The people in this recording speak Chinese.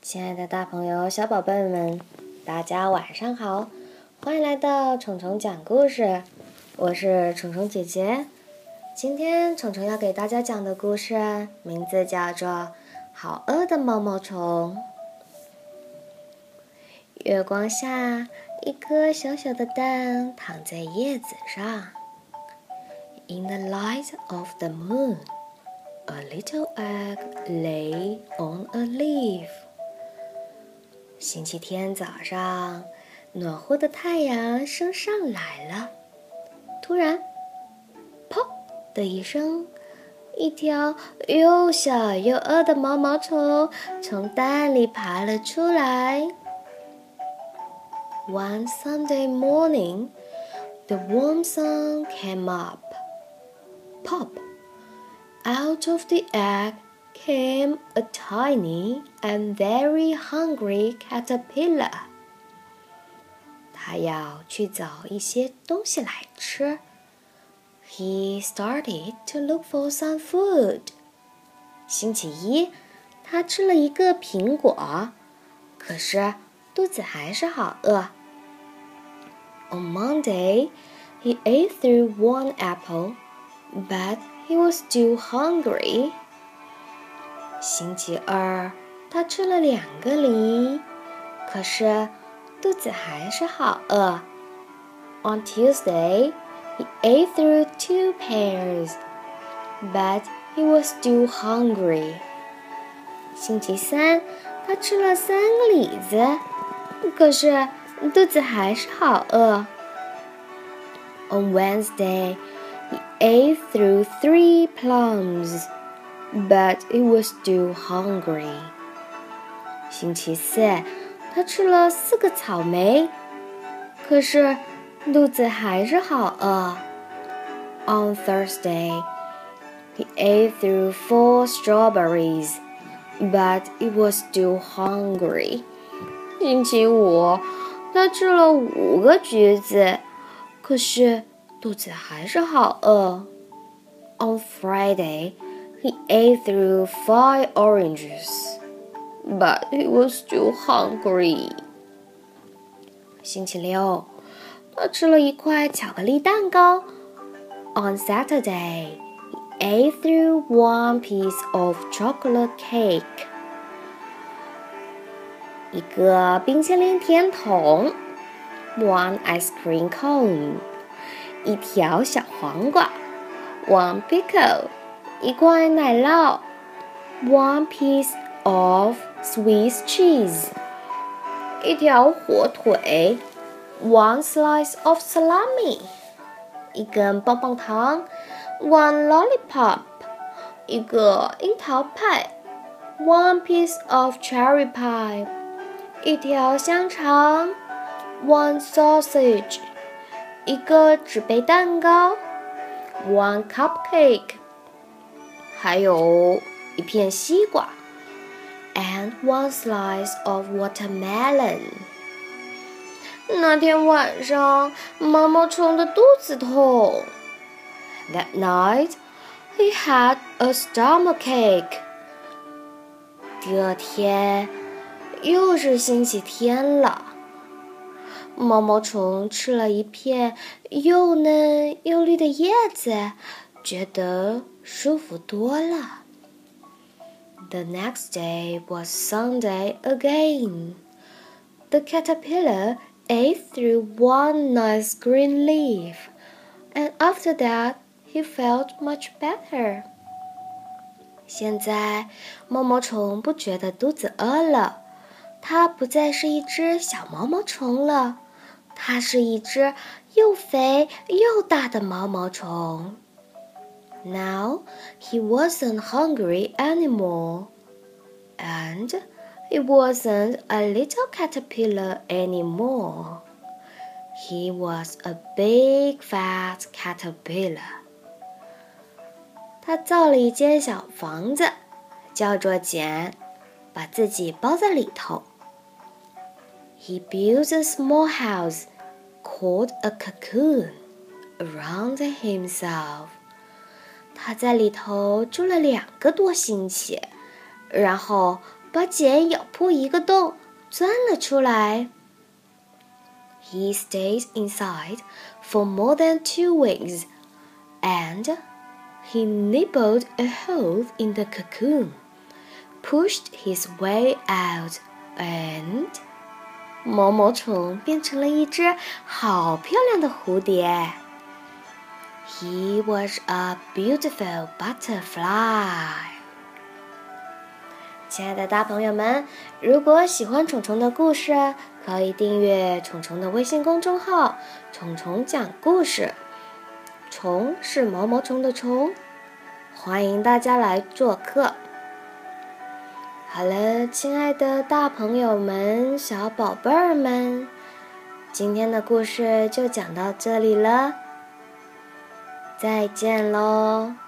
亲爱的大朋友、小宝贝们，大家晚上好！欢迎来到虫虫讲故事，我是虫虫姐姐。今天虫虫要给大家讲的故事名字叫做《好饿的毛毛虫》。月光下，一颗小小的蛋躺在叶子上。In the light of the moon, a little egg lay on a leaf. 星期天早上，暖和的太阳升上来了。突然，砰的一声，一条又小又饿的毛毛虫从蛋里爬了出来。One Sunday morning, the warm sun came up. Pop! Out of the egg came a tiny and very hungry caterpillar. 他要去找一些东西来吃。He started to look for some food. 星期一，他吃了一个苹果，可是肚子还是好饿。On Monday, he ate through one apple, but he was still hungry. 星期二，他吃了2个梨，可是肚子还是好饿。On Tuesday, he ate through 2 pears, but he was still hungry. 星期三，他吃了3个李子，可是肚子还是好饿。On Wednesday, he ate through 3 plums, but he was still hungry. 星期四，他吃了4个草莓，可是肚子还是好饿。On Thursday, he ate through 4 strawberries, but he was still hungry. 星期五，他吃了5个橘子，可是肚子还是好饿。On Friday, he ate through 5 oranges, but he was still hungry. 星期六，他吃了1块巧克力蛋糕。On Saturday, he ate through 1 piece of chocolate cake. 一个冰淇淋甜筒 ，one ice cream cone， 一条小黄瓜 ，one pickle， 一块奶酪 ，one piece of Swiss cheese， 一条火腿 ，one slice of salami， 一根棒棒糖 ，one lollipop， 一个樱桃派 ，one piece of cherry pie。一条香肠 ，one sausage， 一个纸杯蛋糕 ，one cupcake， 还有一片西瓜 ，and one slice of watermelon。那天晚上，毛毛虫的肚子痛。That night, he had a stomachache。第二天。又是星期天了，毛毛虫吃了一片又嫩又绿的叶子，觉得舒服多了。The next day was Sunday again. The caterpillar ate through 1 nice green leaf, and after that he felt much better. 现在毛毛虫不觉得肚子饿了。它不再是一只小毛毛虫了，它是一只又肥又大的毛毛虫。Now he wasn't hungry anymore, and he wasn't a little caterpillar anymore. He was a big fat caterpillar. 他造了一间小房子，叫做茧，把自己包在里头。He built a small house called a cocoon around himself. 他在里头住了2个多星期，然后把茧咬破一个洞，钻了出来。He stayed inside for more than 2 weeks, and he nibbled a hole in the cocoon, pushed his way out, and 毛毛虫变成了一只好漂亮的蝴蝶。He was a beautiful butterfly. 亲爱的大朋友们，如果喜欢虫虫的故事，可以订阅虫虫的微信公众号“虫虫讲故事”。虫是毛毛虫的虫，欢迎大家来做客。好了，亲爱的大朋友们、小宝贝儿们，今天的故事就讲到这里了，再见喽。